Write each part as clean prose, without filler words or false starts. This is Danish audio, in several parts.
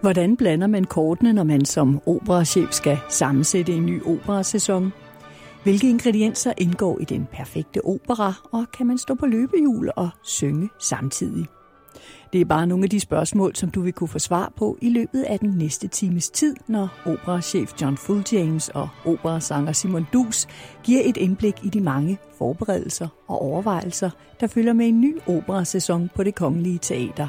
Hvordan blander man kortene, når man som operachef skal sammensætte en ny operasæson? Hvilke ingredienser indgår i den perfekte opera, og kan man stå på løbehjul og synge samtidig? Det er bare nogle af de spørgsmål, som du vil kunne få svar på i løbet af den næste times tid, når operachef John Fulljames og operasanger Simon Duus giver et indblik i de mange forberedelser og overvejelser, der følger med en ny operasæson på Det Kongelige Teater.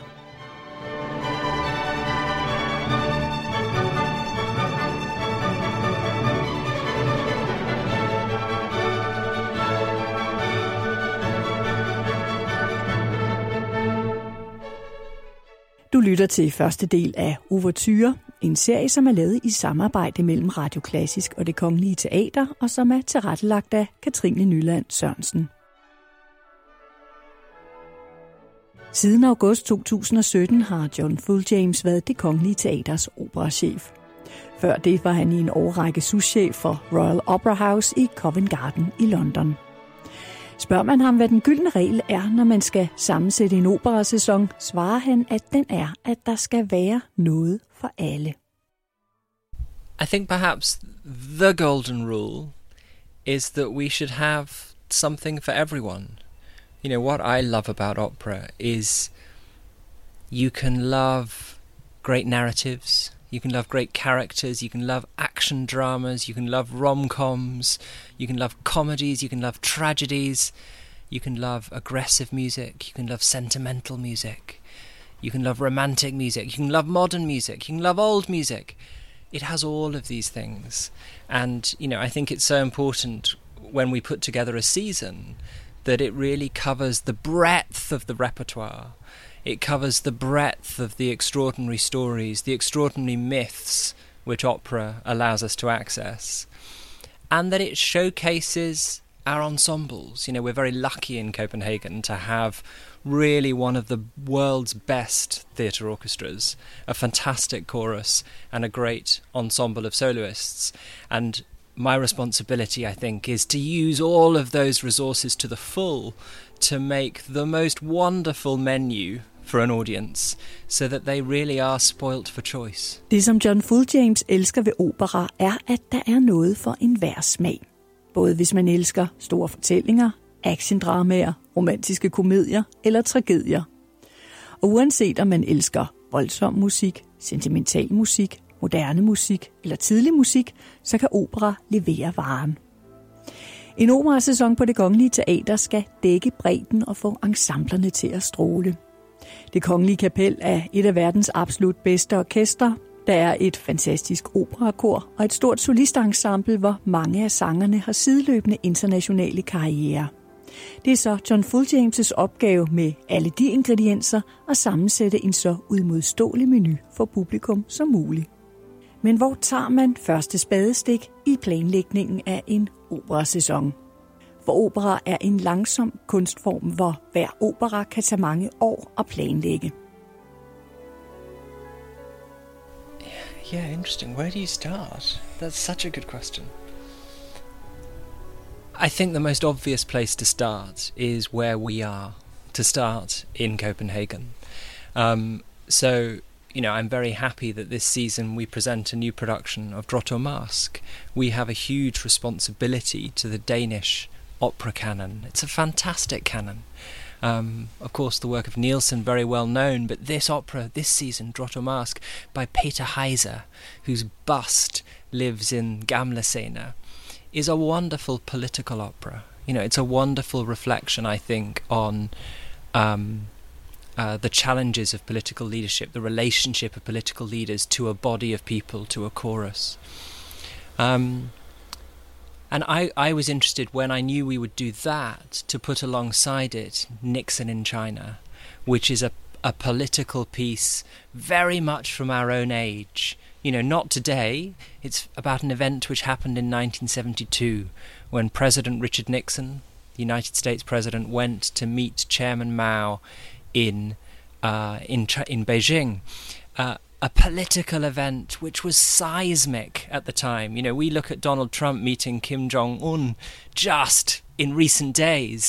Du lytter til første del af Ouverture, en serie, som er lavet i samarbejde mellem Radio Klassisk og Det Kongelige Teater, og som er tilrettelagt af Katrine Nyland Sørensen. Siden august 2017 har John Fulljames været Det Kongelige Teaters operachef. Før det var han i en årrække souschef for Royal Opera House i Covent Garden i London. Spørger man ham, hvad den gyldne regel er, når man skal sammensætte en operasæson, svarer han, at den er, at der skal være noget for alle. I think perhaps the golden rule is that we should have something for everyone. You know, what I love about opera is you can love great narratives, you can love great characters, you can love action dramas, you can love rom-coms, you can love comedies, you can love tragedies, you can love aggressive music, you can love sentimental music, you can love romantic music, you can love modern music, you can love old music. It has all of these things. And, you know, I think it's so important when we put together a season that it really covers the breadth of the repertoire. It covers the breadth of the extraordinary stories, the extraordinary myths which opera allows us to access, and that it showcases our ensembles. You know, we're very lucky in Copenhagen to have really one of the world's best theatre orchestras, a fantastic chorus, and a great ensemble of soloists. And my responsibility, I think, is to use all of those resources to the full to make the most wonderful menu for an audience, so that they really are spoilt for choice. Det, som John Fulljames elsker ved opera, er, at der er noget for enhver smag. Både hvis man elsker store fortællinger, actiondramaer, romantiske komedier eller tragedier. Og uanset om man elsker voldsom musik, sentimental musik, moderne musik eller tidlig musik, så kan opera levere varen. En operasæson på Det Kongelige Teater skal dække bredden og få ensemblerne til at stråle. Det Kongelige Kapel er et af verdens absolut bedste orkestre. Der er et fantastisk operakor og et stort solistensemble, hvor mange af sangerne har sideløbende internationale karrierer. Det er så John Fulljames' opgave med alle de ingredienser at sammensætte en så udmodståelig menu for publikum som muligt. Men hvor tager man første spadestik i planlægningen af en operasæson? For opera er en langsom kunstform, hvor hver opera kan tage mange år at planlægge. Yeah, interesting. Where do you start? That's such a good question. I think the most obvious place to start is where we are, to start in Copenhagen. So, you know, I'm very happy that this season we present a new production of Drotto Mask. We have a huge responsibility to the Danish opera canon. It's a fantastic canon. Of course, the work of Nielsen, very well known, but this opera, this season, Drotto Mask, by Peter Heiser, whose bust lives in Gamla Scena, is a wonderful political opera. You know, it's a wonderful reflection, I think, on the challenges of political leadership, the relationship of political leaders to a body of people, to a chorus. And I was interested, when I knew we would do that, to put alongside it Nixon in China, which is a political piece very much from our own age. You know, not today. It's about an event which happened in 1972 when President Richard Nixon, the United States president, went to meet Chairman Mao in Beijing. A political event which was seismic at the time. You know, we look at Donald Trump meeting Kim Jong-un just in recent days,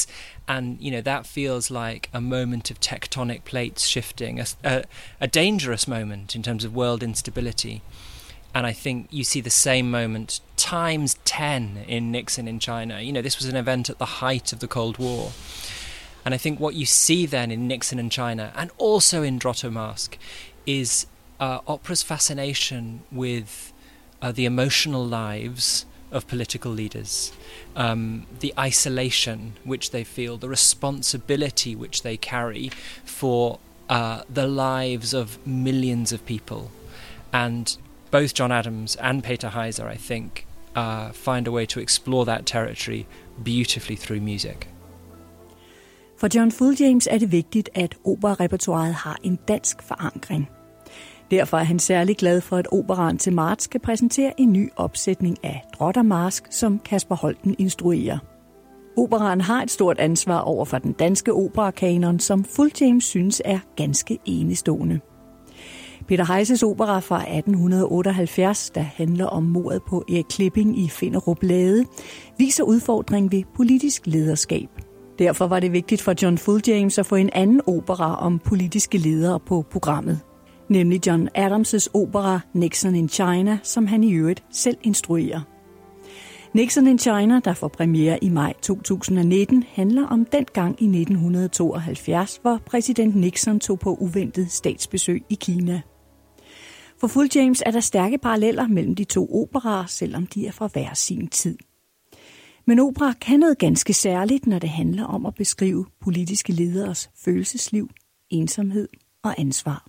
And, that feels like a moment of tectonic plates shifting, a dangerous moment in terms of world instability. And I think you see the same moment times 10 in Nixon in China. This was an event at the height of the Cold War. And I think what you see then in Nixon in China, and also in Drotto Mask, is opera's fascination with the emotional lives of political leaders, the isolation which they feel, the responsibility which they carry for the lives of millions of people. And both John Adams and Peter Heiser, I think, find a way to explore that territory beautifully through music. For John Fulljames er det vigtigt, at operarepertoiret har en dansk forankring. Derfor er han særlig glad for, at operaen til marts skal præsentere en ny opsætning af Drotto Mask, som Kasper Holten instruerer. Operaen har et stort ansvar over for den danske operakanon, som Fulljames synes er ganske enestående. Peter Heisers opera fra 1878, der handler om mordet på Erik Klipping i Finderup Lade, viser udfordring ved politisk lederskab. Derfor var det vigtigt for John Fulljames at få en anden opera om politiske ledere på programmet, nemlig John Adams' opera Nixon in China, som han i øvrigt selv instruerer. Nixon in China, der får premiere i maj 2019, handler om den gang i 1972, hvor præsident Nixon tog på uventet statsbesøg i Kina. For Fulljames er der stærke paralleller mellem de to operaer, selvom de er fra hver sin tid. Men opera kan noget ganske særligt, når det handler om at beskrive politiske lederes følelsesliv, ensomhed og ansvar.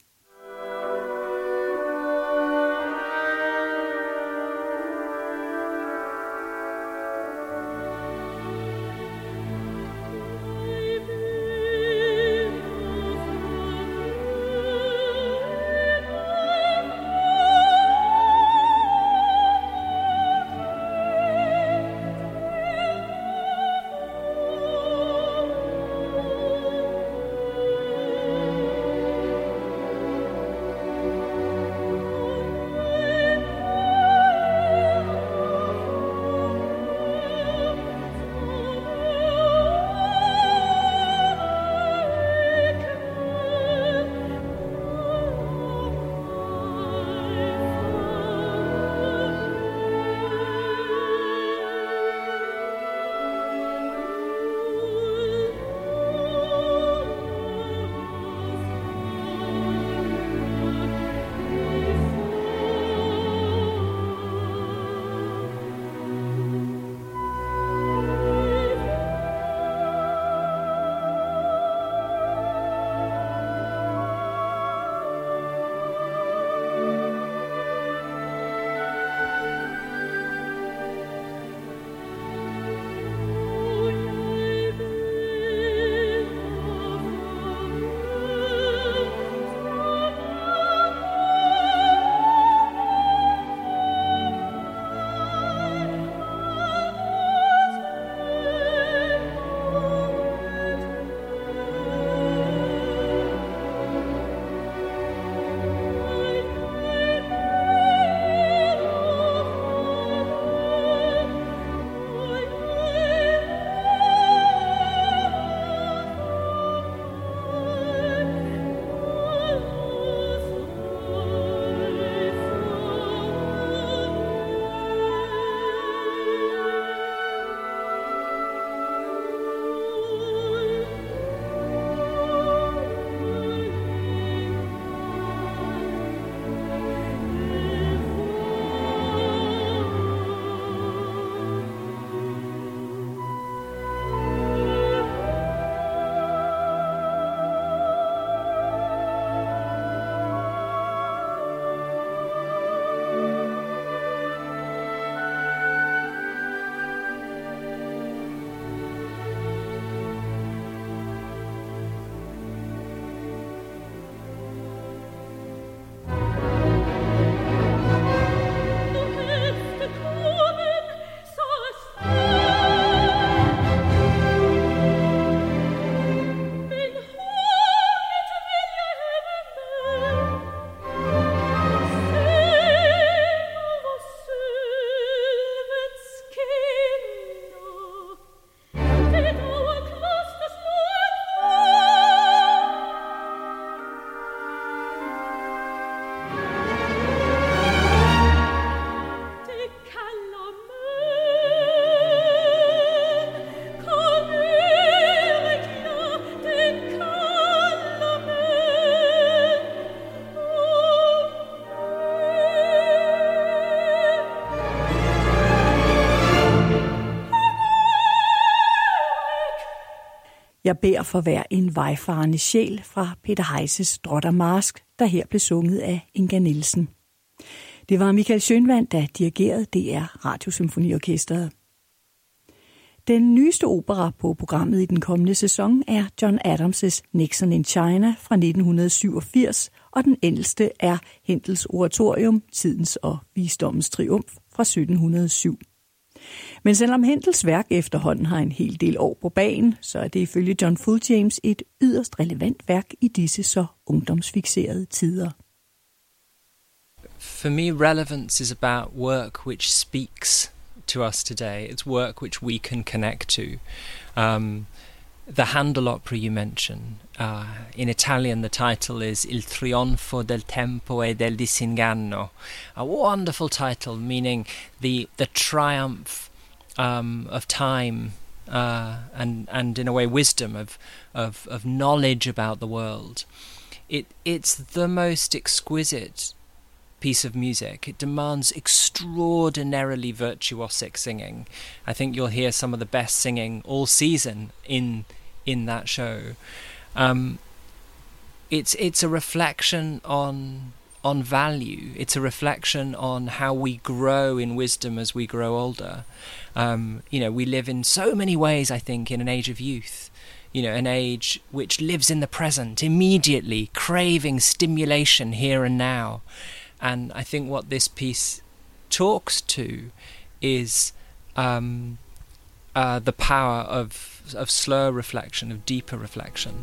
Jeg beder for hver en vejfarende sjæl fra Peter Heises Drot og Marsk, der her blev sunget af Inga Nielsen. Det var Michael Schønwandt, der dirigerede DR Radiosymfoniorkestret. Den nyeste opera på programmet i den kommende sæson er John Adams' Nixon in China fra 1987, og den ældste er Händels oratorium Tidens og visdommens triumf fra 1707. Men selvom Händels værk efterhånden har en hel del år på bagen, så er det ifølge John Fulljames et yderst relevant værk i disse så ungdomsfikserede tider. For me, relevance is about work which speaks to us today. It's work which we can connect to. The Handel opera you mention, in Italian the title is Il trionfo del tempo e del disinganno. A wonderful title, meaning the triumph of time and in a way wisdom of knowledge about the world. It's the most exquisite piece of music. It demands extraordinarily virtuosic singing. I think you'll hear some of the best singing all season in that show. It's a reflection on value. It's a reflection on how we grow in wisdom as we grow older. We live in so many ways, I think, in an age of youth. An age which lives in the present, immediately, craving stimulation here and now. And I think what this piece talks to is the power of slower reflection, of deeper reflection.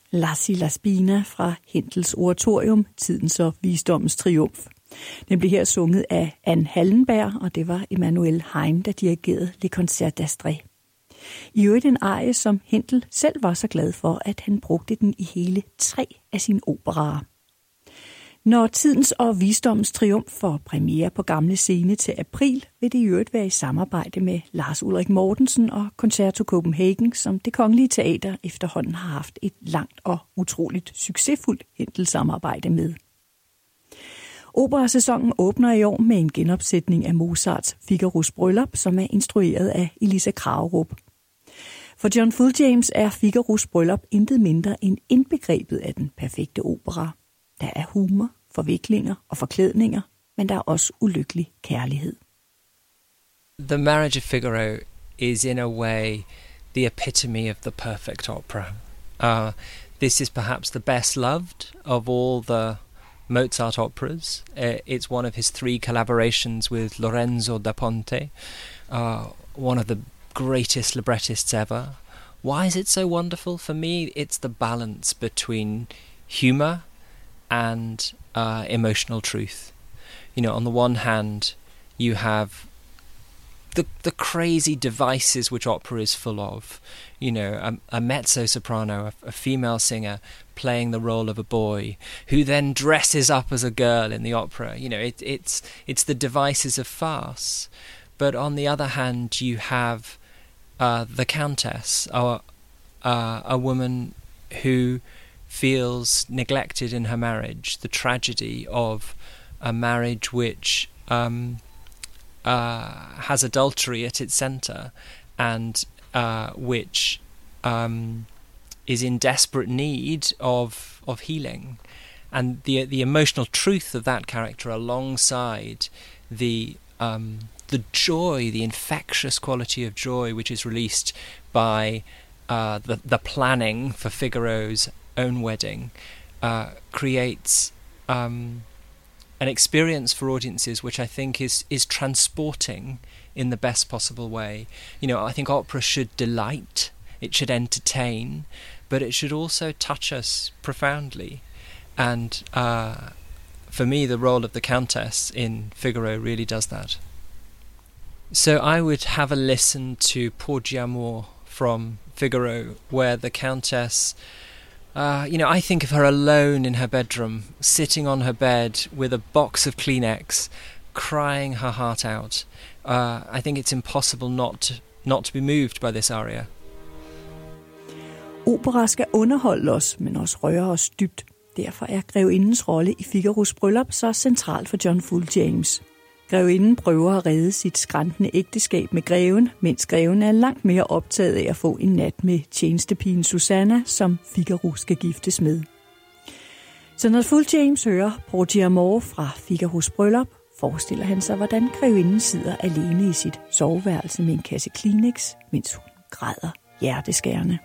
Lassi la Spina fra Händels oratorium, Tidens og visdommens triumf. Den blev her sunget af Anne Hallenberg, og det var Emanuel Hein, der dirigerede Le Concert d'Astrée. I øvrigt en arie, som Händel selv var så glad for, at han brugte den i hele 3 af sine operaer. Når Tidens og visdommens triumf får premiere på Gamle Scene til april, vil det i øvrigt være i samarbejde med Lars Ulrik Mortensen og Concerto Copenhagen, som Det Kongelige Teater efterhånden har haft et langt og utroligt succesfuldt Händel-samarbejde med. Operasæsonen åbner i år med en genopsætning af Mozarts Figaros Bryllup, som er instrueret af Elisa Kragerup. For John Fulljames er Figaros Bryllup intet mindre end indbegrebet af den perfekte opera. Der er humor, forviklinger og forklædninger, men der er også ulykkelig kærlighed. The Marriage of Figaro is in a way the epitome of the perfect opera. This is perhaps the best loved of all the Mozart operas. It's one of his 3 collaborations with Lorenzo da Ponte, one of the greatest librettists ever. Why is it so wonderful? For me, it's the balance between humor and emotional truth. You know, on the one hand, you have the crazy devices which opera is full of. You know, a mezzo-soprano, a female singer playing the role of a boy, who then dresses up as a girl in the opera. You know, it's the devices of farce. But on the other hand, you have the Countess, a woman who feels neglected in her marriage, the tragedy of a marriage which has adultery at its centre, and which is in desperate need of healing, and the emotional truth of that character alongside the joy, the infectious quality of joy which is released by the planning for Figaro's own wedding, creates an experience for audiences which I think is transporting in the best possible way. You know, I think opera should delight, it should entertain, but it should also touch us profoundly. And for me, the role of the Countess in Figaro really does that. So I would have a listen to Porgi Amor from Figaro, where the Countess, I think of her alone in her bedroom, sitting on her bed with a box of Kleenex, crying her heart out. I think it's impossible not to be moved by this aria. Opera skal underholde os, men også røre os dybt. Derfor er grevindens rolle i Figaros Bryllup så central for John Fulljames. Grevinden prøver at redde sit skrantende ægteskab med greven, mens greven er langt mere optaget af at få en nat med tjenestepigen Susanna, som Figaro skal giftes med. Så når Fulljames hører Porgi Amor fra Figaros Bryllup, forestiller han sig, hvordan grevinden sidder alene i sit soveværelse med en kasse Kleenex, mens hun græder hjerteskærende.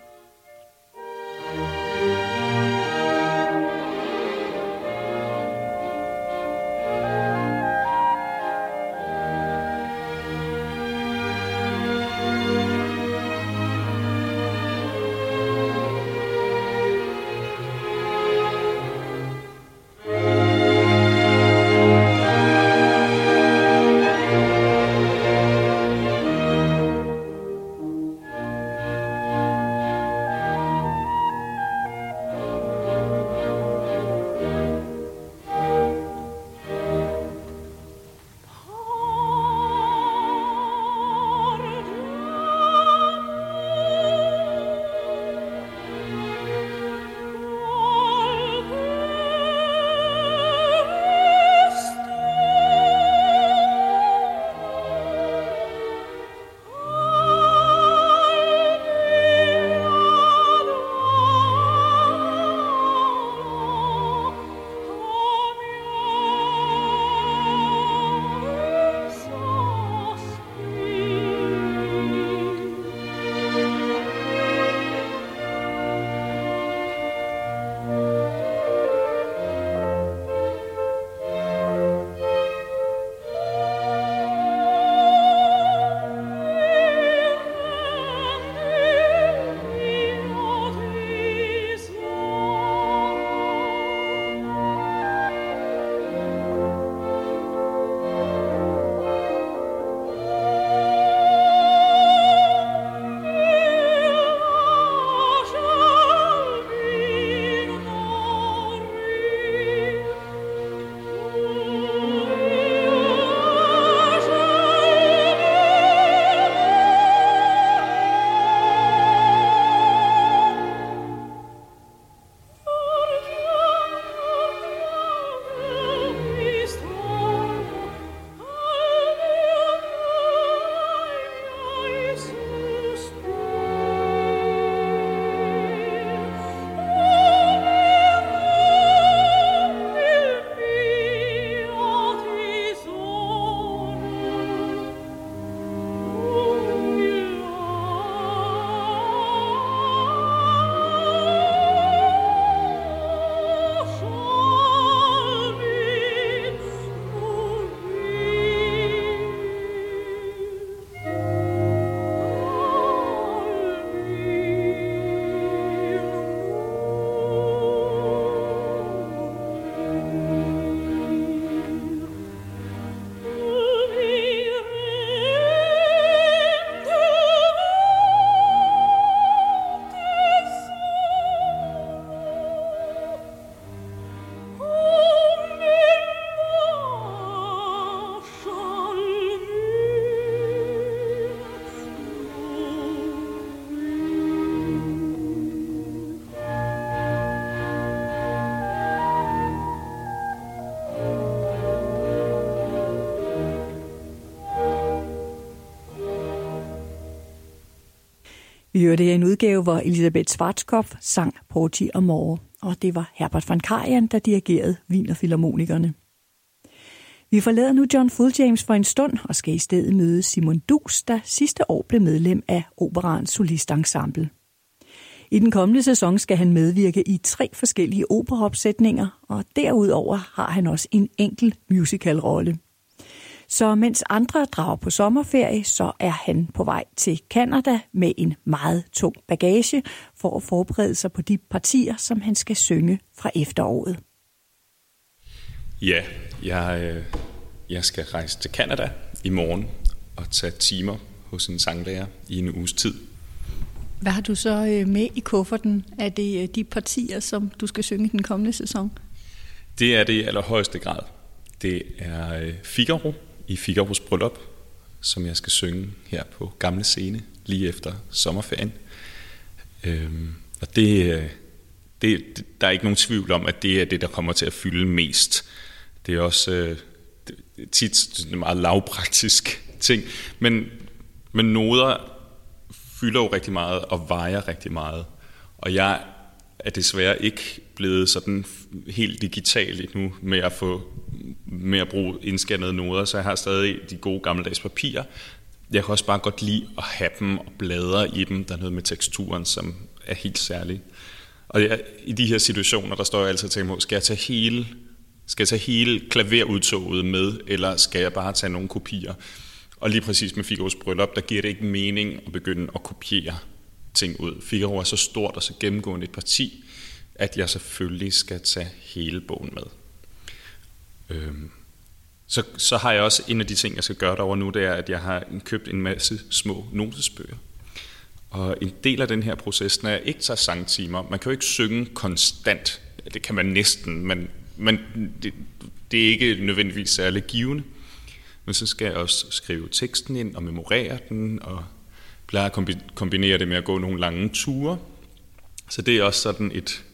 Vi hørte en udgave, hvor Elisabeth Schwarzkopf sang Porgy og More, og det var Herbert von Karajan, der dirigerede Wienerfilharmonikerne. Vi forlader nu John Fulljames for en stund og skal i stedet møde Simon Duus, der sidste år blev medlem af Operaens solistensemble. I den kommende sæson skal han medvirke i 3 forskellige operaopsætninger, og derudover har han også en enkelt musicalrolle. Så mens andre drager på sommerferie, så er han på vej til Canada med en meget tung bagage for at forberede sig på de partier, som han skal synge fra efteråret. Ja, jeg skal rejse til Canada i morgen og tage timer hos en sanglærer i en uges tid. Hvad har du så med i kufferten? Er det de partier, som du skal synge den kommende sæson? Det er det i allerhøjeste grad. Det er Figaro i Figaros bryllup, som jeg skal synge her på Gamle Scene lige efter sommerferien. Og der er ikke nogen tvivl om, at det er det, der kommer til at fylde mest. Det er også tit en meget lavpraktisk ting, men noder fylder jo rigtig meget og vejer rigtig meget. Og jeg er desværre ikke blevet sådan helt digital endnu med at bruge indskannede noder, så jeg har stadig de gode gammeldags papirer. Jeg kan også bare godt lide at have dem og bladre i dem. Der er noget med teksturen, som er helt særlig. Og i de her situationer, der står jeg altid og tænker på, skal jeg tage hele klaverudtoget med, eller skal jeg bare tage nogle kopier? Og lige præcis med Figaros bryllup, der giver det ikke mening at begynde at kopiere ting ud. Figaro er så stort og så gennemgående et parti, at jeg selvfølgelig skal tage hele bogen med. Så har jeg også en af de ting, jeg skal gøre derovre nu, det er, at jeg har købt en masse små notesbøger. Og en del af den her proces, når jeg ikke tager sangtimer, man kan jo ikke synge konstant. Det kan man næsten, men det er ikke nødvendigvis særlig givende. Men så skal jeg også skrive teksten ind og memorere den, og plejer at kombinere det med at gå nogle lange ture. Så det er også sådan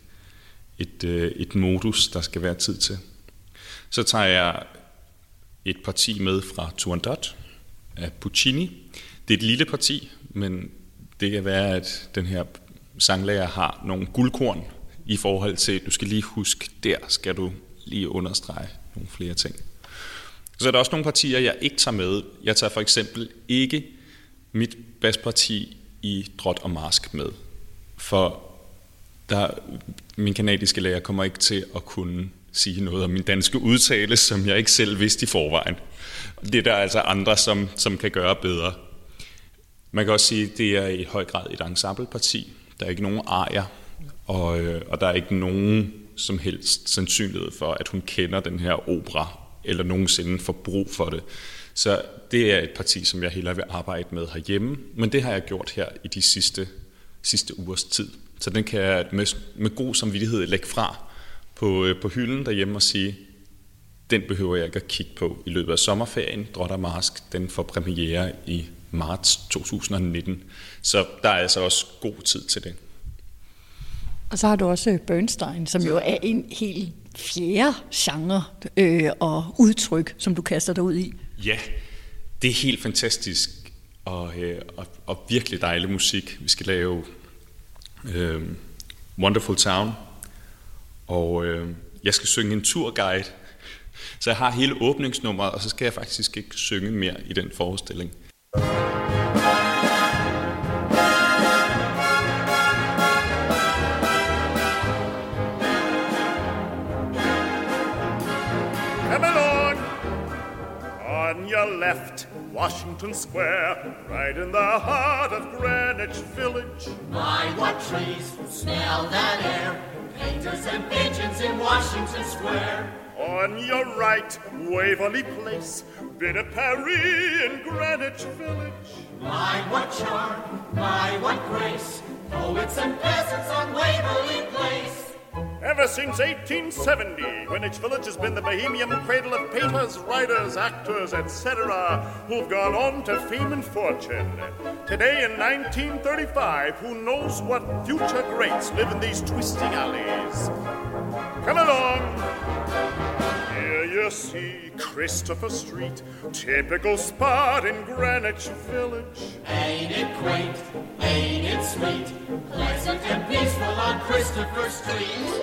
et modus, der skal være tid til. Så tager jeg et parti med fra Turandot af Puccini. Det er et lille parti, men det kan være, at den her sanglærer har nogle guldkorn i forhold til, du skal lige huske, der skal du lige understrege nogle flere ting. Så er der også nogle partier, jeg ikke tager med. Jeg tager for eksempel ikke mit basparti i Drot og Marsk med, for min kanadiske lærer kommer ikke til at kunne sige noget om min danske udtale, som jeg ikke selv vidste i forvejen. Det er der altså andre, som kan gøre bedre. Man kan også sige, at det er i høj grad et ensembleparti. Der er ikke nogen arier, og der er ikke nogen som helst sandsynlighed for, at hun kender den her opera, eller nogensinde får brug for det. Så det er et parti, som jeg hellere vil arbejde med herhjemme, men det har jeg gjort her i de sidste ugers tid. Så den kan jeg med god samvittighed lægge fra på hylden derhjemme og sige, den behøver jeg ikke at kigge på i løbet af sommerferien. Drot og Marsk, den får premiere i marts 2019. Så der er altså også god tid til det. Og så har du også Bernstein, som jo er en helt fjerde genre og udtryk, som du kaster dig ud i. Ja, det er helt fantastisk og virkelig dejlig musik. Vi skal lave Wonderful Town, og jeg skal synge en turguide. Så jeg har hele åbningsnummeret, og så skal jeg faktisk ikke synge mere i den forestilling. Come along! On your left, Washington Square, right in the heart of Greenwich Village. My, what trees, smell that air, painters and pigeons in Washington Square. On your right, Waverly Place, bit of Paris in Greenwich Village. My, what charm, my, what grace, poets and peasants on Waverly Place. Ever since 1870, Greenwich Village has been the bohemian cradle of painters, writers, actors, etc., who've gone on to fame and fortune. Today in 1935, who knows what future greats live in these twisting alleys? Come along! Here you you see Christopher Street, typical spot in Greenwich Village. Ain't it quaint? Ain't it sweet? Pleasant and peaceful on Christopher Street.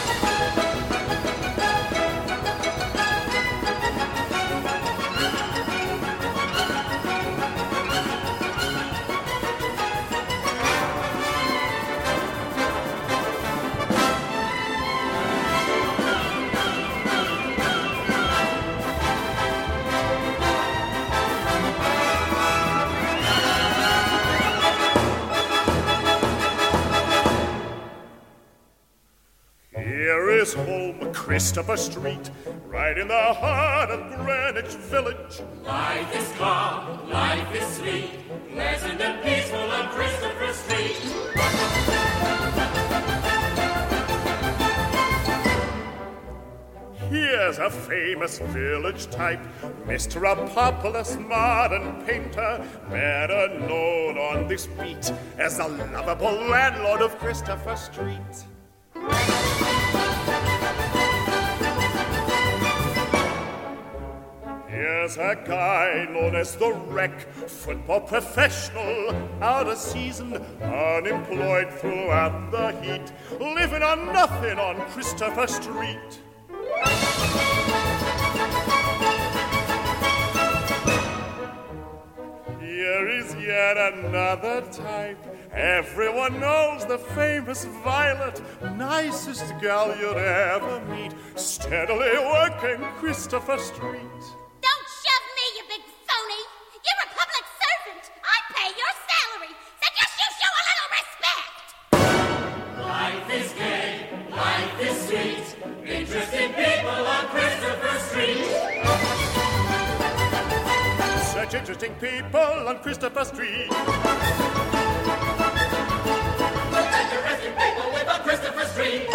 Home, Christopher Street, right in the heart of Greenwich Village. Life is calm, life is sweet, pleasant and peaceful on Christopher Street. Here's a famous village type, Mr. Apopoulos, modern painter, better known on this beat as the lovable landlord of Christopher Street. Here's a guy known as the Wreck, football professional, out of season, unemployed throughout the heat, living on nothing on Christopher Street. Here is yet another type. Everyone knows the famous Violet, nicest gal you'd ever meet, steadily working Christopher Street. Don't shove me, you big phony! You're a public servant! I pay your salary, so just you show a little respect! Life is gay, life is sweet, interesting people on Christopher Street. Such interesting people on Christopher Street. Interesting people live on Christopher Street.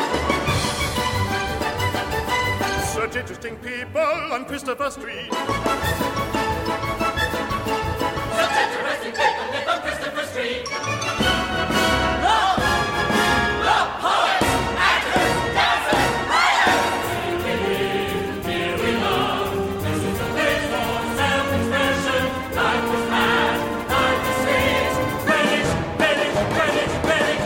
Such interesting people on Christopher Street. Such interesting people live on Christopher Street. The poets, actors, dancers, writers. Singing, here we love. This is a place for self-expression. Life was mad, life was sweet. Greenwich, Greenwich, Greenwich, Greenwich.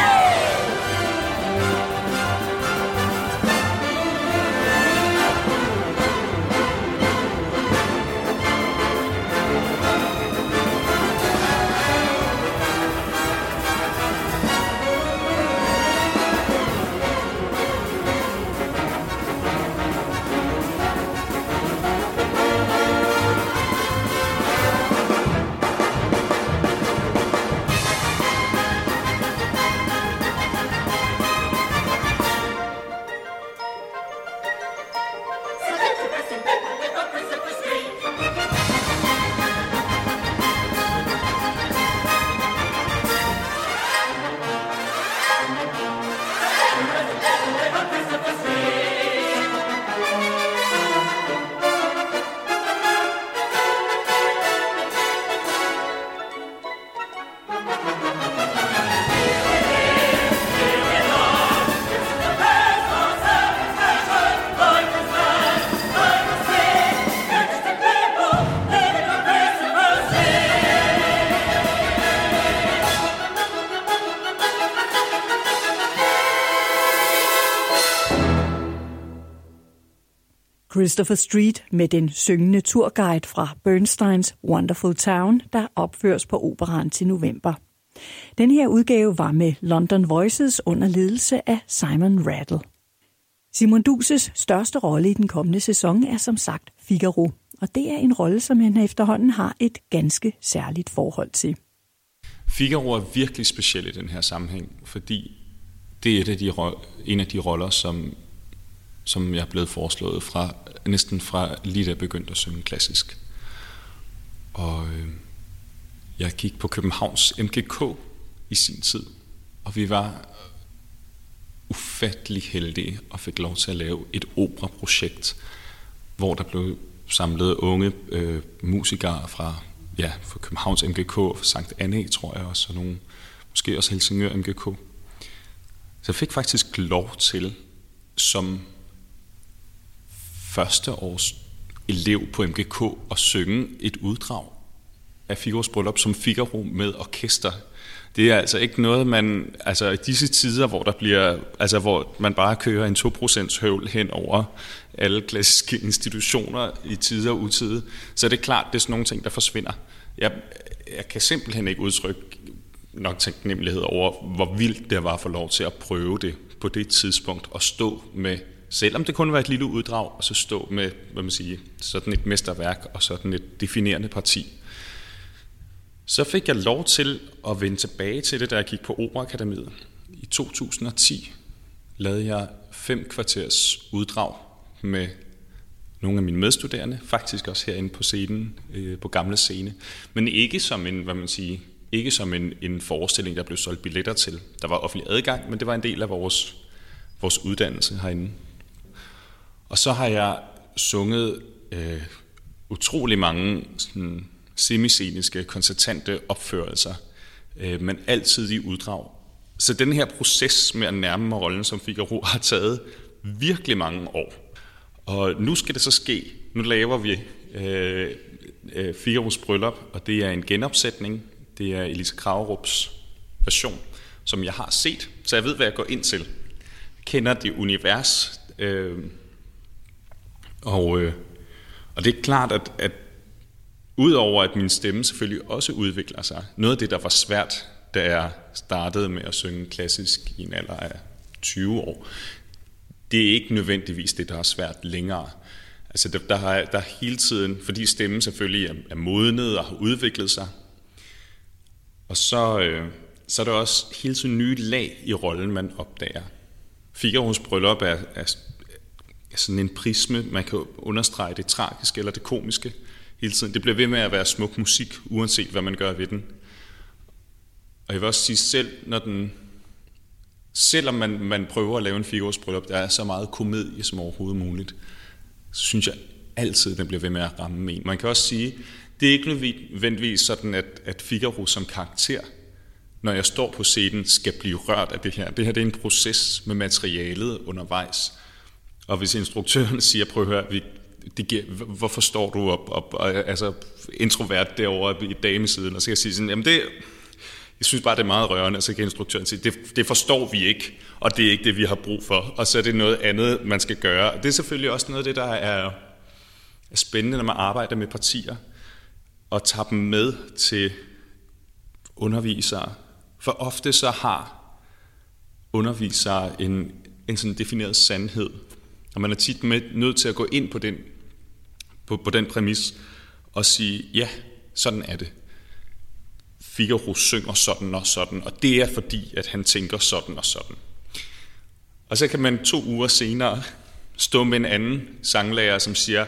Such interesting people live on Christopher Street. Christopher Street med den syngende turguide fra Bernsteins Wonderful Town, der opføres på Operaen til november. Den her udgave var med London Voices under ledelse af Simon Rattle. Simon Duses største rolle i den kommende sæson er som sagt Figaro, og det er en rolle, som han efterhånden har et ganske særligt forhold til. Figaro er virkelig speciel i den her sammenhæng, fordi det er en af de roller, som jeg er blevet foreslået næsten fra lige da jeg begyndte at synge klassisk. Og jeg gik på Københavns MGK i sin tid, og vi var ufattelig heldige og fik lov til at lave et operaprojekt, hvor der blev samlet unge musikere fra Københavns MGK, fra Sankt Anne, tror jeg også, og nogle, måske også Helsingør MGK. Så jeg fik faktisk lov til som første års elev på MGK at synge et uddrag af Figaros Bryllup som Figaro med orkester. Det er altså ikke noget, man, altså i disse tider, hvor der bliver, altså hvor man bare kører en 2% høvl hen over alle klassiske institutioner i tide og utide, så er det klart, det er sådan nogle ting, der forsvinder. Jeg kan simpelthen ikke udtrykke nok taknemmelighed over, hvor vildt det var at få lov til at prøve det på det tidspunkt, og stå med, selvom det kun var et lille uddrag, og så stå med, hvad man siger, sådan et mesterværk og sådan et definerende parti. Så fik jeg lov til at vende tilbage til det, da jeg gik på Operaakademiet. I 2010 lavede jeg 5 kvarters uddrag med nogle af mine medstuderende, faktisk også herinde på scenen, på Gamle Scene, men ikke som en, hvad man siger, ikke som en forestilling, der blev solgt billetter til. Der var offentlig adgang, men det var en del af vores uddannelse herinde. Og så har jeg sunget utrolig mange sådan, semisceniske, koncertante opførelser, men altid i uddrag. Så den her proces med at nærme mig rollen som Figaro har taget virkelig mange år. Og nu skal det så ske. Nu laver vi Figaros Bryllup, og det er en genopsætning. Det er Elise Kragerups version, som jeg har set, så jeg ved, hvad jeg går ind til. Jeg kender det univers, og det er klart, at udover at min stemme selvfølgelig også udvikler sig, noget af det, der var svært, da jeg startede med at synge klassisk i en alder af 20 år, det er ikke nødvendigvis det, der er svært længere. Altså der er hele tiden, fordi stemmen selvfølgelig er modnet og har udviklet sig, og så er der også hele tiden nye lag i rollen, man opdager. Figaros Bryllup er sådan en prisme, man kan understrege det tragiske eller det komiske hele tiden. Det bliver ved med at være smuk musik, uanset hvad man gør ved den. Og jeg vil også sige, selvom man prøver at lave en Figaros Bryllup, der er så meget komedie som overhovedet muligt, så synes jeg altid, den bliver ved med at ramme en. Man kan også sige, det er ikke nødvendigvis sådan, at Figaro som karakter, når jeg står på scenen, skal blive rørt af det her. Det her det er en proces med materialet undervejs. Og hvis instruktøren siger, prøv at høre, hvorfor står du altså introvert derovre i damesiden, og så kan jeg sige sådan, jamen jeg synes bare, det er meget rørende, og så kan instruktøren sige, det forstår vi ikke, og det er ikke det, vi har brug for, og så er det noget andet, man skal gøre. Og det er selvfølgelig også noget af det, der er spændende, når man arbejder med partier, og tager dem med til undervisere. For ofte så har undervisere en sådan defineret sandhed, og man er tit nødt til at gå ind på den præmis og sige, ja, sådan er det. Figaro synger sådan og sådan, og det er fordi, at han tænker sådan og sådan. Og så kan man 2 uger senere stå med en anden sanglærer, som siger,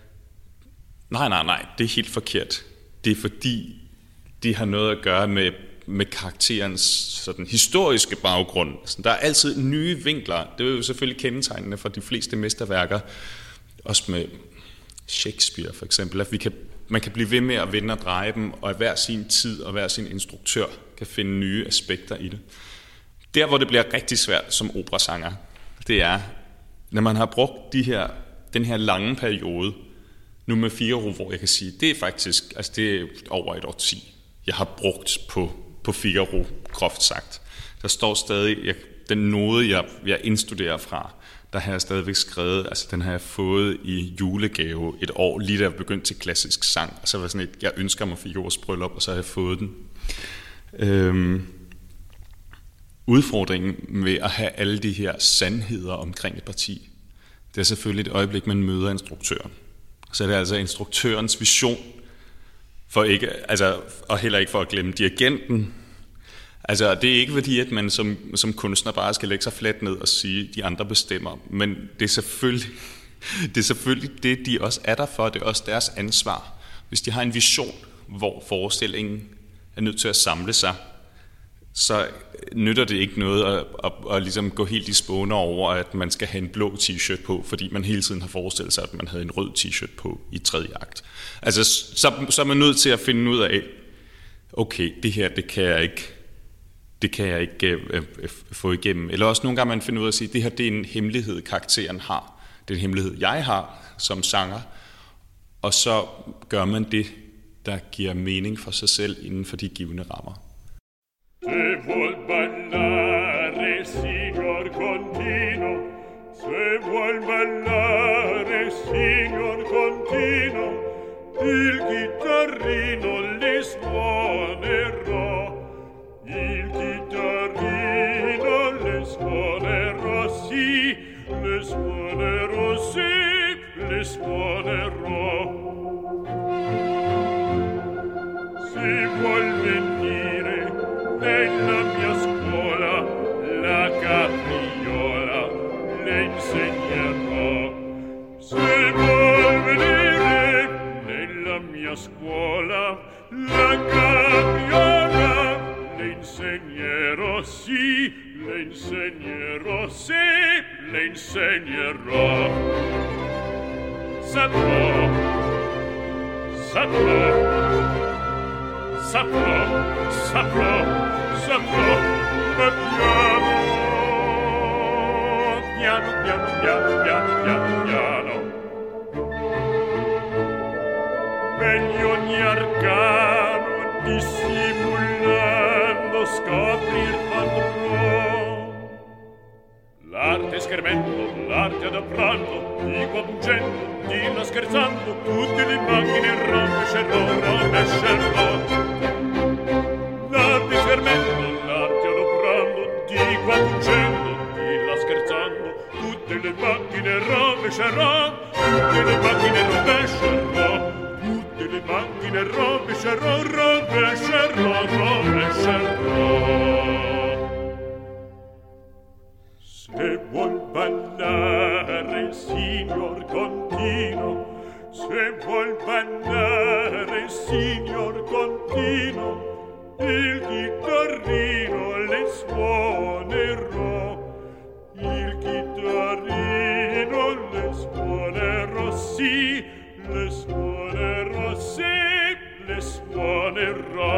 nej, det er helt forkert. Det er fordi, det har noget at gøre med karakterens sådan, historiske baggrund. Så der er altid nye vinkler. Det er jo selvfølgelig kendetegnende for de fleste mesterværker, også med Shakespeare for eksempel, at man kan blive ved med at vende og dreje dem, og hver sin tid og hver sin instruktør kan finde nye aspekter i det. Der, hvor det bliver rigtig svært som operasanger, det er, når man har brugt den her lange periode, nu med Figaro, hvor jeg kan sige, det er faktisk, altså det er over et årti, jeg har brugt på Figaro, groft sagt. Der står stadig, den node, jeg indstuderer fra, der har jeg stadigvæk skrevet, altså den har jeg fået i julegave et år, lige da jeg begyndte til klassisk sang, og så var sådan jeg ønsker mig Figaros Bryllup, og så har jeg fået den. Udfordringen med at have alle de her sandheder omkring et parti, det er selvfølgelig et øjeblik, man møder instruktøren. Så er det altså instruktørens vision, og heller ikke for at glemme dirigenten. Altså, det er ikke fordi, at man som kunstner bare skal lægge sig fladt ned og sige, at de andre bestemmer, men det er selvfølgelig det, de også er der for, det er også deres ansvar. Hvis de har en vision, hvor forestillingen er nødt til at samle sig, så nytter det ikke noget at ligesom gå helt i spåner over, at man skal have en blå t-shirt på, fordi man hele tiden har forestillet sig, at man havde en rød t-shirt på i 3. akt. Altså, så er man nødt til at finde ud af, okay, det her, det kan jeg ikke få igennem. Eller også nogle gange man finder ud af at sige, det her det er en hemmelighed, karakteren har. Det er en hemmelighed, jeg har, som sanger, og så gør man det, der giver mening for sig selv inden for de givne rammer. Se vuol ballare, signor Contino, se vuol ballare, signor Contino, il chitarrino le suonerà, il chitarrino le suonerà, sì, le suonerò, sì, le suonerò. Se vuol venire nella mia scuola la capriola le insegnerò. Se vuol venire nella mia scuola la capriola le insegnerò, sì, le insegnerò, sì, le insegnerò. Saprò, saprò, saprò, saprò, saprò, ma piano, piano, piano, piano, piano, piano, piano. Meglio ogni arcano dissimulando scoprir potrò. L'arte schermendo, l'arte adaprando, di qua buggendo, di là scherzando, tutte le macchine rovescerò, rovescerò. L'arte schermendo, l'arte adoprando, di qua fuggendo, di là scherzando, tutte le macchine rovescerò, tutte le macchine rovescerò, tutte le macchine rovescerò, rovescerò, rovescerò. Se vuol ballare, signor Contino, se vuol ballare, signor Contino, il chitarrino le suonerò, il chitarrino le suonerò, sì, le suonerò, sì, le suonerò.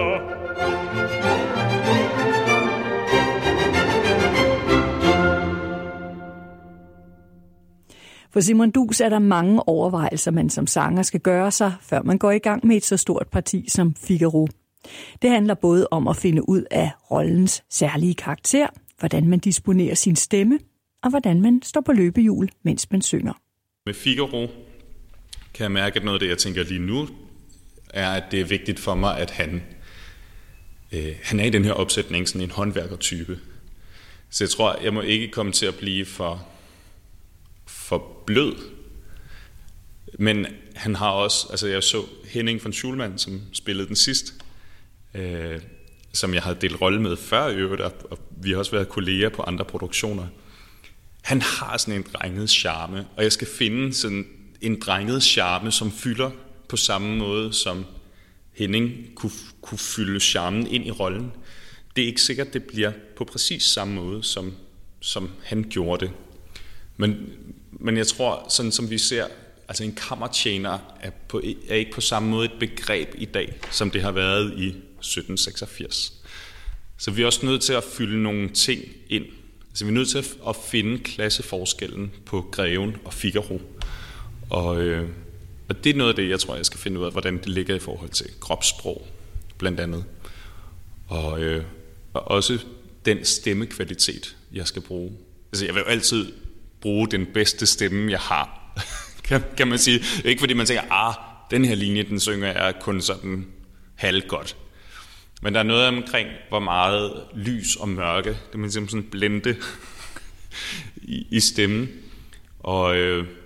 For Simon Duus er der mange overvejelser, man som sanger skal gøre sig, før man går i gang med et så stort parti som Figaro. Det handler både om at finde ud af rollens særlige karakter, hvordan man disponerer sin stemme, og hvordan man står på løbehjul, mens man synger. Med Figaro kan jeg mærke, at noget af det, jeg tænker lige nu, er, at det er vigtigt for mig, at han er i den her opsætning sådan en håndværkertype. Så jeg tror, jeg må ikke komme til at blive for blød. Men han har også, altså jeg så Henning von Schulman, som spillede den sidst, som jeg havde delt rolle med før i øvrigt, og vi har også været kolleger på andre produktioner. Han har sådan en drenget charme, og jeg skal finde sådan en drenget charme, som fylder på samme måde, som Henning kunne fylde charmen ind i rollen. Det er ikke sikkert, det bliver på præcis samme måde, som han gjorde det. Men jeg tror, sådan som vi ser, altså en kammertjener er ikke på samme måde et begreb i dag, som det har været i 1786. Så vi er også nødt til at fylde nogle ting ind. Altså vi er nødt til at finde klasseforskellen på Greven og Figaro. Og det er noget af det, jeg tror, jeg skal finde ud af, hvordan det ligger i forhold til kropssprog, blandt andet. Og også den stemmekvalitet, jeg skal bruge. Altså jeg vil jo altid bruge den bedste stemme, jeg har, kan man sige. Ikke fordi man tænker, den her linje, den synger jeg kun sådan halvgodt. Men der er noget omkring, hvor meget lys og mørke, det man simpelthen sådan blende i stemmen. Og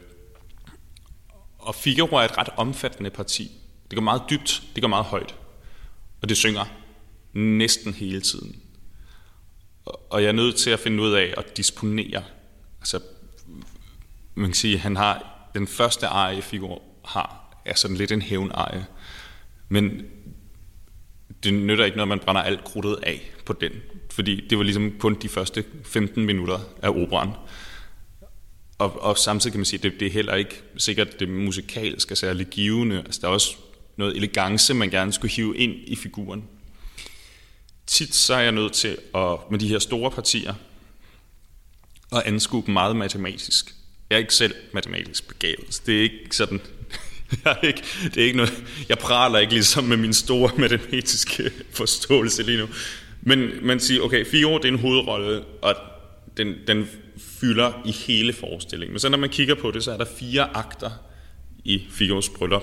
Figaro er et ret omfattende parti. Det går meget dybt, det går meget højt. Og det synger næsten hele tiden. Og jeg er nødt til at finde ud af at disponere. Altså, man kan sige, at han har den første arie, Figaro har, er sådan lidt en hævnarie. Men det nytter ikke, når man brænder alt krudtet af på den. Fordi det var ligesom kun de første 15 minutter af operaen. Og samtidig kan man sige, at det er heller ikke sikkert, at det musikalske er særlig givende. Altså, der er også noget elegance, man gerne skulle hive ind i figuren. Tit så er jeg nødt til, med de her store partier, at anskue dem meget matematisk. Jeg er ikke selv matematisk begavet. Det er ikke sådan... det er ikke noget... Jeg praler ikke ligesom med min store matematiske forståelse lige nu. Men man siger, okay, Figaro, det er en hovedrolle, og den fylder i hele forestillingen. Men så når man kigger på det, så er der 4 akter i Figaros bryllup.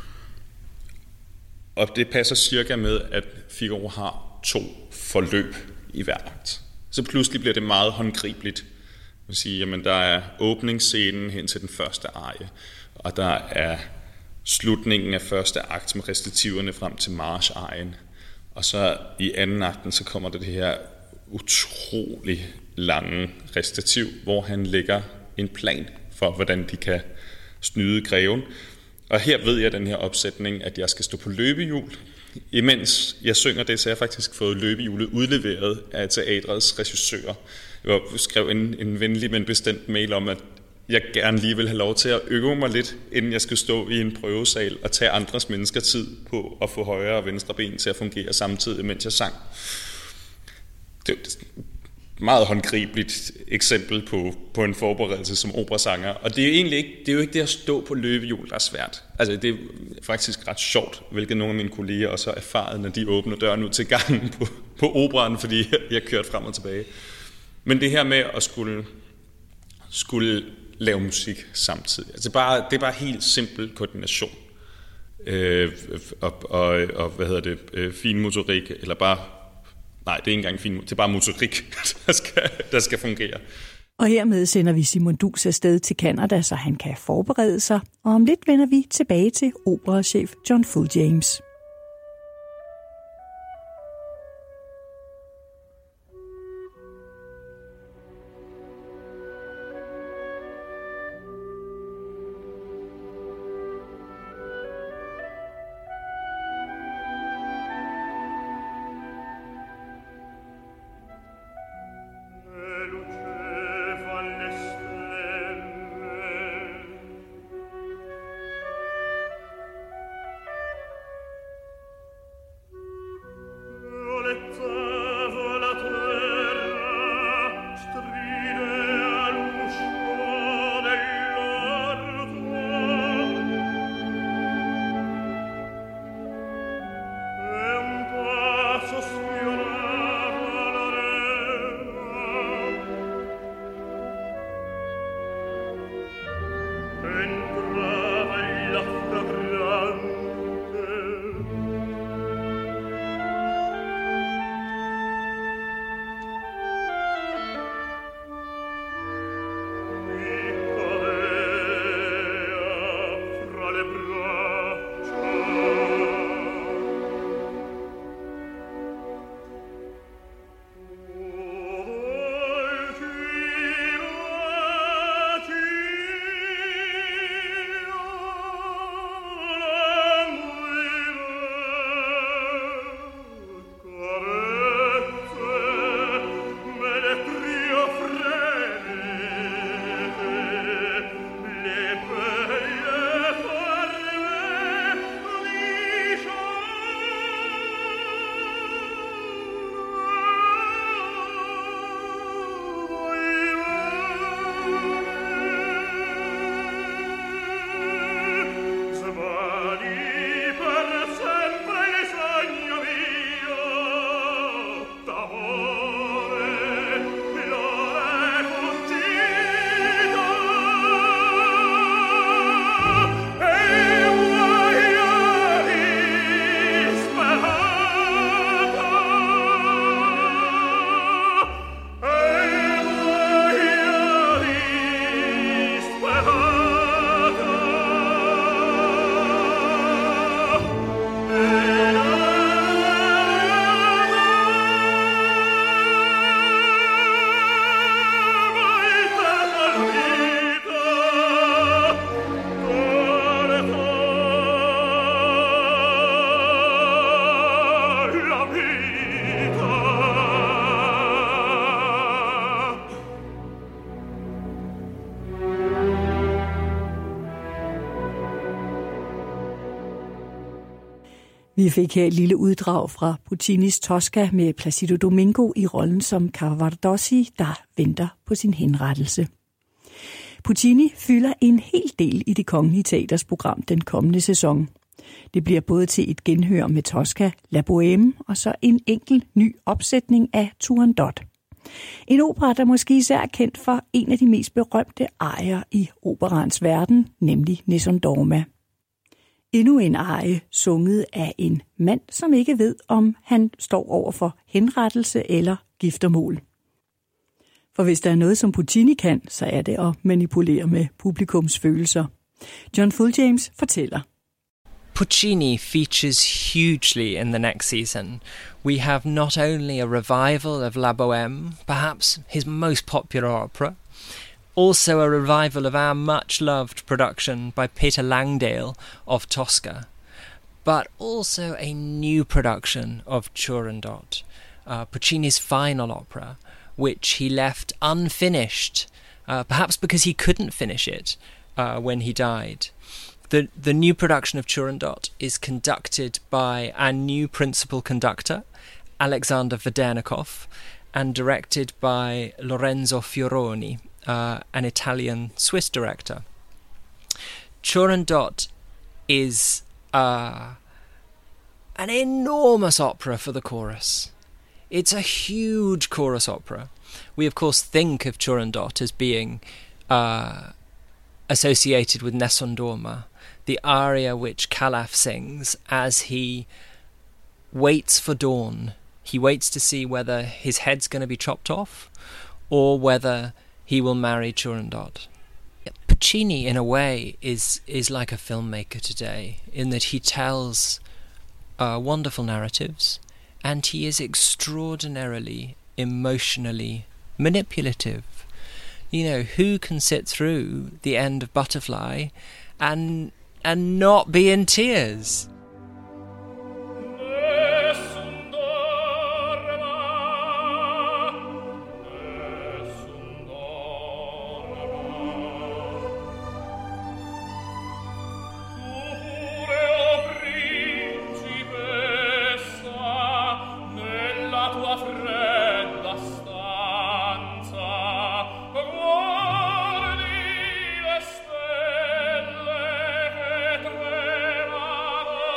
Og det passer cirka med, at Figaro har 2 forløb i hver akt. Så pludselig bliver det meget håndgribeligt. Man siger, jamen der er åbningsscenen hen til den første arie, og der er slutningen af første akt med recitativerne frem til march-arien. Og så i anden akten, så kommer det her utrolig lange recitativ, hvor han lægger en plan for, hvordan de kan snyde greven. Og her ved jeg den her opsætning, at jeg skal stå på løbehjul. Imens jeg synger det, så har jeg faktisk fået løbehjulet udleveret af teatrets regissør. Jeg skrev en venlig, men bestemt mail om, at jeg gerne lige vil have lov til at øve mig lidt, inden jeg skal stå i en prøvesal og tage andres mennesker tid på at få højre og venstre ben til at fungere samtidig, mens jeg sang. Det er et meget håndgribeligt eksempel på en forberedelse som operasanger. Og det er jo ikke det at stå på løbehjul, der er svært. Altså det er faktisk ret sjovt, hvilket nogle af mine kolleger også har erfaret, når de åbner døren ud til gangen på operaen, fordi jeg kørt frem og tilbage. Men det her med at skulle lave musik samtidig. Altså det er bare helt simpel koordination. Og fin motorik, eller bare... Nej, det er ikke engang fin, det er bare motorik, der skal fungere. Og hermed sender vi Simon Duus afsted til Canada, så han kan forberede sig. Og om lidt vender vi tilbage til operachef John Fulljames. Vi fik her et lille uddrag fra Puccinis Tosca med Placido Domingo i rollen som Cavaradossi, der venter på sin henrettelse. Puccini fylder en hel del i Det Kongelige Teaters program den kommende sæson. Det bliver både til et genhør med Tosca, La Bohème og så en enkelt ny opsætning af Turandot. En opera, der måske især er kendt for en af de mest berømte arier i operaens verden, nemlig Nessun Dorma. Endnu en arie sunget af en mand, som ikke ved, om han står over for henrettelse eller giftermål. For hvis der er noget, som Puccini kan, så er det at manipulere med publikums følelser. John Fulljames fortæller. Puccini features hugely in the next season. We have not only a revival of La Bohème, perhaps his most popular opera, also a revival of our much-loved production by Peter Langdale of Tosca, but also a new production of Turandot, Puccini's final opera, which he left unfinished, perhaps because he couldn't finish it when he died. The new production of Turandot is conducted by our new principal conductor, Alexander Vedernikov, and directed by Lorenzo Fioroni, an Italian-Swiss director. Turandot is an enormous opera for the chorus. It's a huge chorus opera. We, of course, think of Turandot as being associated with Nessun Dorma, the aria which Calaf sings as he waits for dawn. He waits to see whether his head's going to be chopped off or whether he will marry Turandot. Puccini, in a way, is like a filmmaker today, in that he tells wonderful narratives, and he is extraordinarily emotionally manipulative. You know, who can sit through the end of Butterfly and not be in tears? Stelle che tremano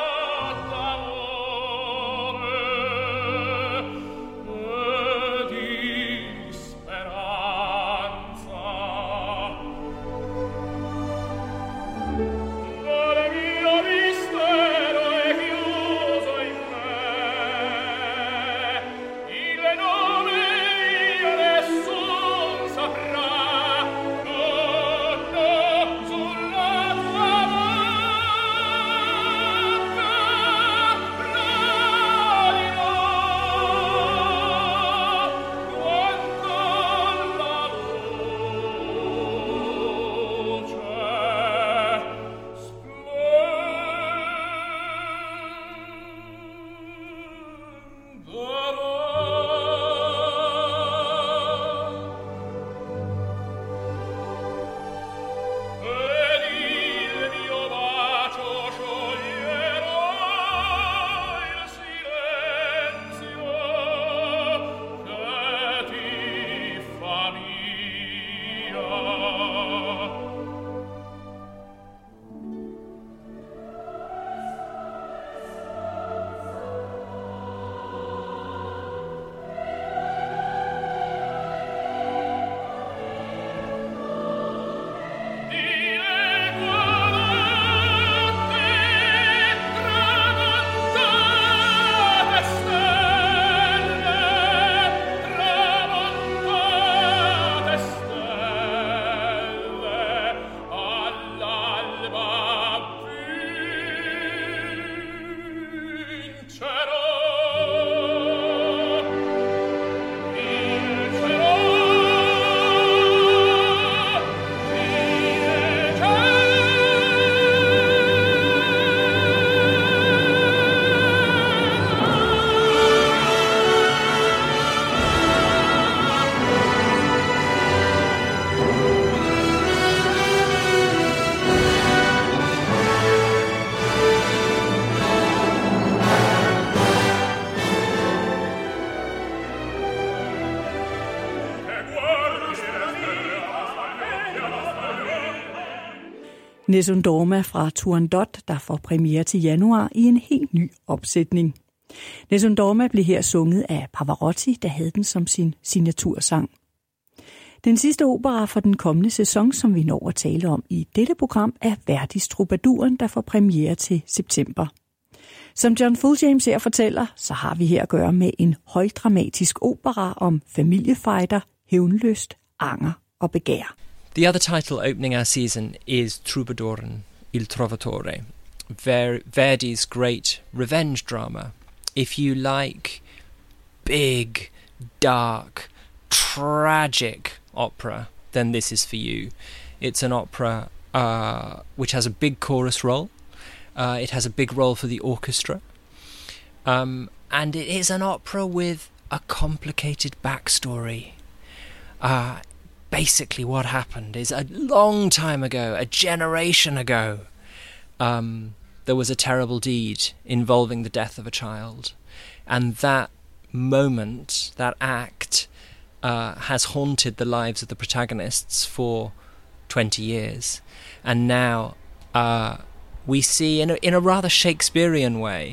Nessun Dorma fra Turandot, der får premiere til januar i en helt ny opsætning. Nessun Dorma blev her sunget af Pavarotti, der havde den som sin signatursang. Den sidste opera for den kommende sæson, som vi når at tale om i dette program, er Verdis Troubaduren, der får premiere til september. Som John Fulljames her fortæller, så har vi her at gøre med en højdramatisk opera om familiefejder, hævnlyst, anger og begær. The other title opening our season is Troubadoren, Il Trovatore, Verdi's great revenge drama. If you like big, dark, tragic opera, then this is for you. It's an opera which has a big chorus role. It has a big role for the orchestra. And it is an opera with a complicated backstory. Basically what happened is a long time ago, a generation ago, there was a terrible deed involving the death of a child. And that moment, that act, has haunted the lives of the protagonists for 20 years. And now we see, in a rather Shakespearean way,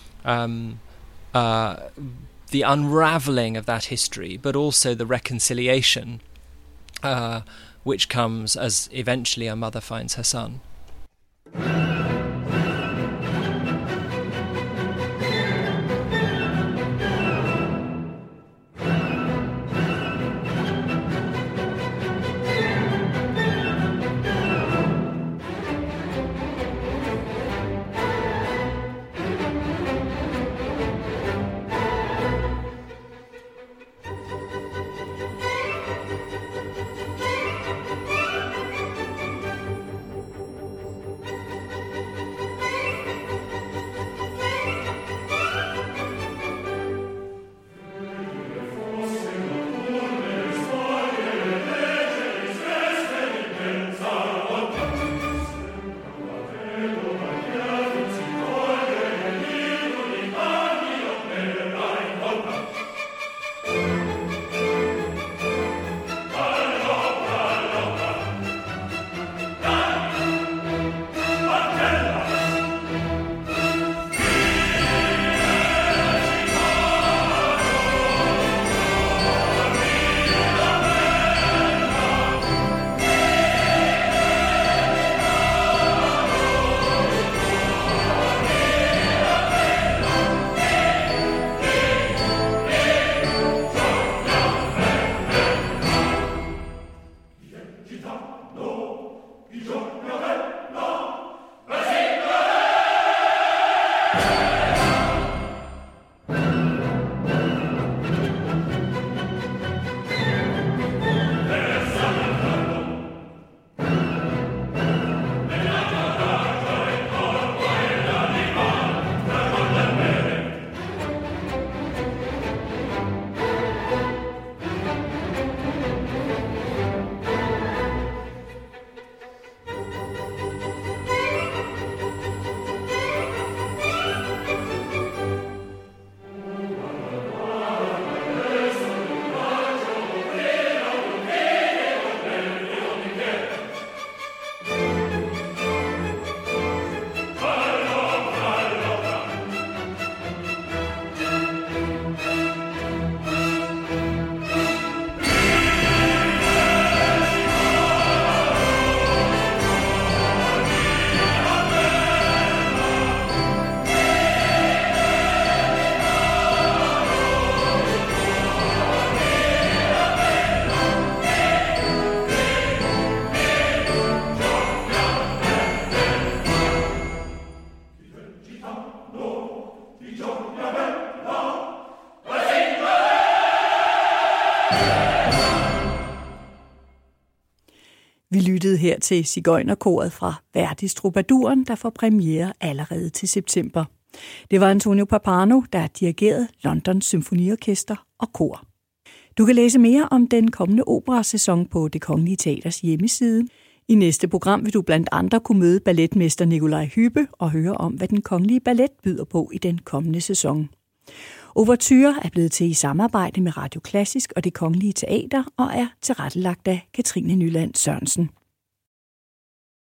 the unravelling of that history, but also the reconciliation which comes as eventually a mother finds her son. Vi lyttede her til Sigøjnerkoret fra Verdis Troubaduren, der får premiere allerede til september. Det var Antonio Pappano, der dirigerede Londons Symfoniorkester og kor. Du kan læse mere om den kommende operasæson på Det Kongelige Teaters hjemmeside. I næste program vil du blandt andre kunne møde balletmester Nikolaj Hübbe og høre om, hvad den kongelige ballet byder på i den kommende sæson. Ouverture er blevet til i samarbejde med Radio Klassisk og Det Kongelige Teater og er tilrettelagt af Katrine Nyland Sørensen.